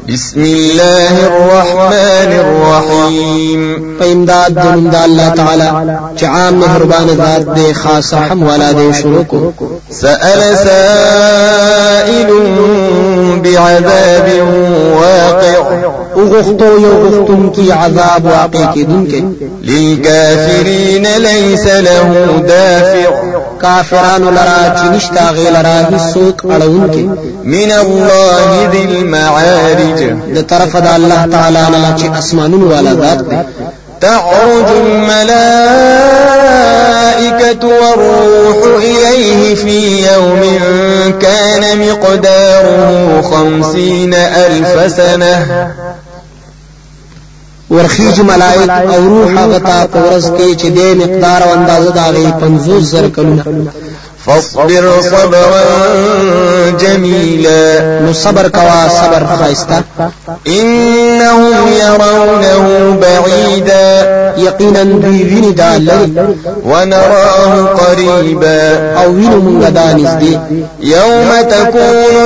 بسم الله الرحمن الرحيم فإمداد دنم دا الله تعالى چعام مهربان ذات دے خاص رحم والا دے شروع کو سأل سائل بعذاب واقع اغختو یو غختن کی عذاب واقع کی دن کے للكافرين ليس له دافع کافران لرا چنشتا غیلرا حسوک اڑون کے من الله ذي المعارج د طرف د الله تعالی نه چې اسمانونو والا ذات دی تعرج الملائكة والروح إليه في يوم كان مقداره 50,000 سنة ورخیج ملائک او روح غتا پورز کې چې د مقدار او اندازه داغي 50,000 کلونه فاصبر صبرا جميلا نو صبر کوا صبر خاصتا انهم يرونه بعيدا یقینا دوی ویني دا لري ونراه قريبا او وینو مونږ دا نږدې يوم تكون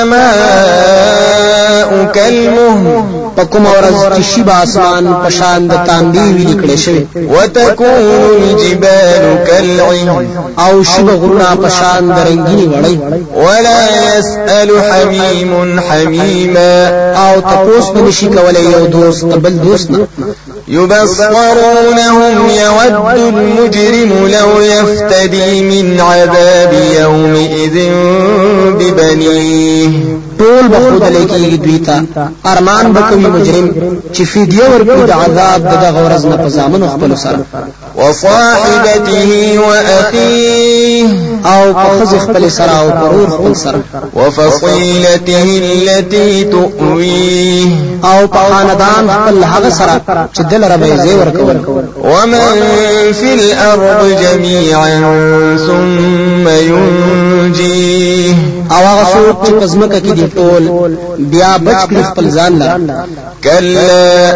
السماء كالمهل پکوم ورځ چې شی اسمان پشان د تاندی ویل کړي شوی وتكون الجبال كالعهن او شی غرنا پشان درنګینی وړي ولا يسأل حميم حميما او تاسو په نشي کولای یو دوست بل دوست نه يبصرونهم يود المجرم لو يفتدي من عذاب يومئذ ببنيه ټول بخود لکی دوی ته ارمان بکوي مجرم چې فدیه ورکړي د عذاب د غورز نه پزامن خپل سره وصاحبته واخيه او پخذ خپل سره او پرور خپل سره وفصيلته التي تؤويه او په خاندان خپل هغه سره چې دل ربي زی ورکول ومن في الارض جميعا ثم ينجيه او هغه څوک چې پزمکه کې دی ټول بیا بچ کړي خپل ځان لا كلا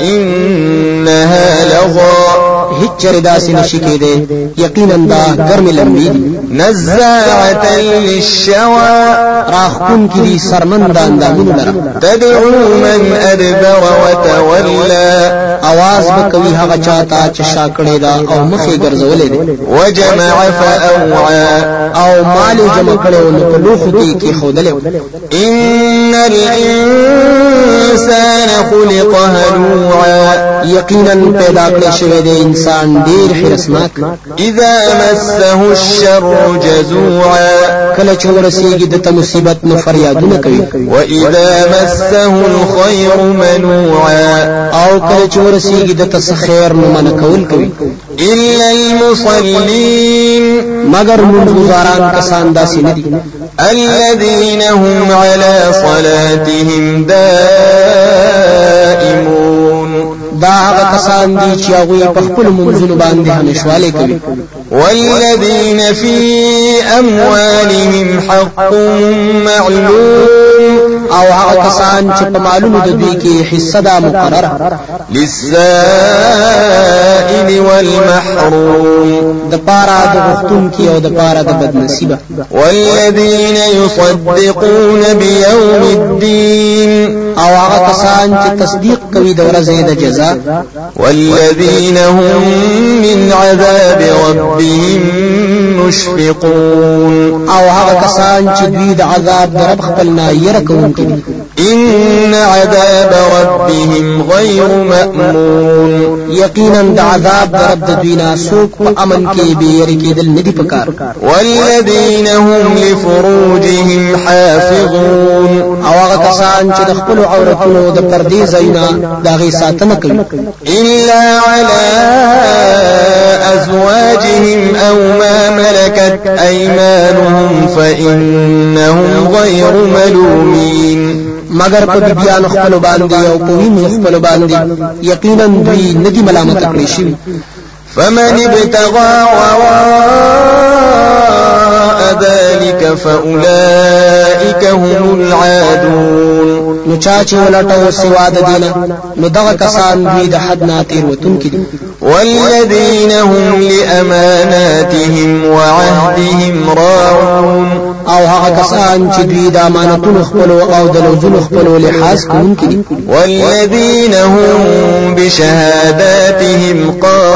انها لظى هیڅ چردا سي نشي کېده یقینا دا ګرمي لمبي نزاعة للشوى راخون کې دي سرمند اندامونه لره تدعو من ادبر وتولى आवाज بکوي هغه چاته چې شاکړې دا او مخې ګرځولې دي وجمع فاوعى او مال جمع کړو نو په لوخ کې خودلې ان الانسان خلق هلوعا یقینا پیدا کړی شوی دی انسان ډیر خرسناک اذا مسه الشر جزوعا کله چې ورسیږي د مصیبت نو فریادونه کوي واذا مسه الخير منوعا او کله چې ورسیږي د خیر نو من کول کوي الا المصلين مگر منذاران کسان داسې نه دي الذين هم على صلاتهم دائمون دا هغه کسان دي چې هغه په خپل منځونو باندې همیشواله کوي والذين في اموالهم حق معلوم او هغه کسان چې په مالونو د دوی کې حصہ دا مقرره للسائل والمحروم د پاره د غختون کې او د پاره د بدنصیبه والذين يصدقون بيوم الدين او هغه کسان چې تصدیق کوي د ورځې د جزاء والذين هم من عذاب ربهم مشفقون او هغه کسان چې دوی د عذاب د رب خپل نه ير کوونکي دي ان عذاب ربهم غير مأمون یقینا د عذاب د رب د دوی نه سوق په امن کې به ير کېدل ندي پکار والذين هم لفروجهم حافظون او هغه کسان چې د خپل عورتونو د پردې زینا دغه ساتنه کوي الا على ازواجهم او ما ملكت ايمانهم فانهم غير ملومين مگر په بیان خپل باندې او په وینو خپل باندې یقینا دوی ندي ملامت کړی شي فمن ابتغى وراء وراء ذلك فأولئك هم العادون. نو چا چې ولټو سوا د دینه نو دغه کسان دوی د حد نه تېروتونکي دي. والذين هم لأماناتهم وعهدهم راعون. او هغه کسان چې دوی د امانتونو خپل او د لوزونو خپل لحاظ کوونکي دي. والذين هم بشهاداتهم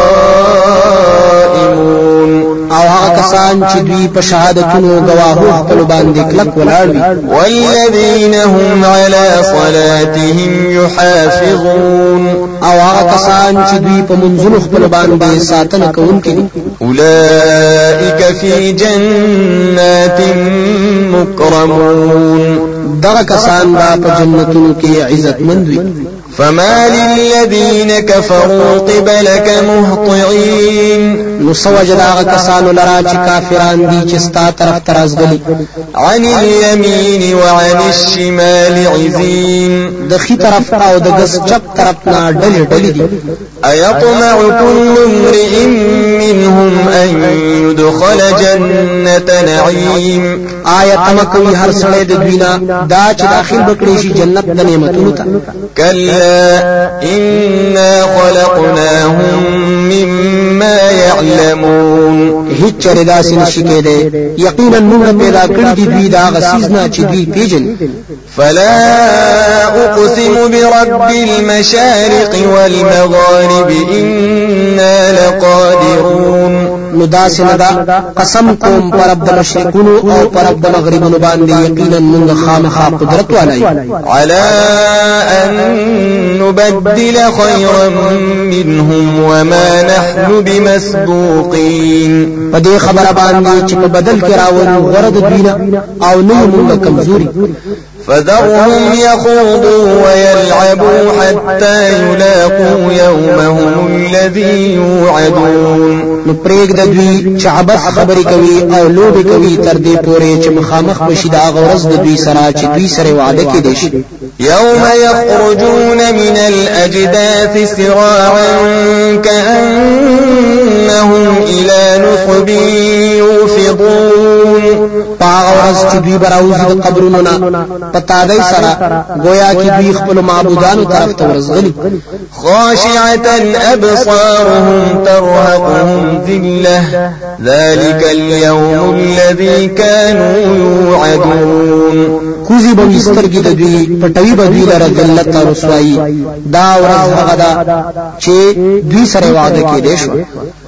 قائمون. او هغه کسان چې دوی په شهادتونو گواهو خپل باندې کلک ولاړ وي. والذين هم على صلاتهم يحافظون. او هغه کسان چې دوی په منځونو خپل باندې ساتنه کوونکي دي. اولئك في جنات مكرمون. دغه کسان با په جنتونو کې عزت مند وي. فما للذين كفروا قبلك مهطعين. نو سوجد هغه کسانو لرا چې کافران دي چې ستا طرف ته راځغلي. عن اليمين وعن الشمال عزين. د خي طرف او د ګس چپ طرف نه ډلې ډلې دي. ايطمع كل امرئ منهم ان يدخل جنة نعيم. آیت تمکوي هر سړی د دوینا دا چې داخل بکړي شي جنت د نعمتونو ته. كلا إنا خلقناهم مما يعلمون. هیڅ چره داسې نشي کېدی. یقینا موږ پیدا کړی دي دوی دا غسیز نه چې دوی پیژني. فلا أقسم برب المشارق والمغارب إنا لقادرون. نو داسې نه دا قسم کوم پر رب د مشرقونو او پر رب د مغربونو باندې یقینا موږ خامخا قدرت ولای على ان نبدل خيرا منهم وما نحن بمسبوقين. پدې خبره باندې چې په بدل کې راوړو غرض دوینه او نه موږ کمزوري. فذرهم يخوضوا ويلعبوا حتى يلاقوا يومهم الذي يوعدون. نو پرېګ د دوی چې عبث خبرې کوي او لوبې کوي تر دې پورې چې مخامخ بشي د هغه ورځ د دوی سره چې دوی سره وعده کړي شي. يوم يخرجون من الأجداث سراعا كأنهم إلى نصب يوفضون. پاغه ورځ چې دوی براوځي د قبرونو نه پتا دی سره گویا چې دوی خپل معبودانو طرف ته ورځغلي. خاشعة أبصارهم ترهقهم ذلة ذلك اليوم الذي كانوا يوعدون. کوزي به سترګې د دوی پټوي به دوی لره ذلت او رسوایی. دا ورځ هغه ده چې دوی سره وعده کړي شو.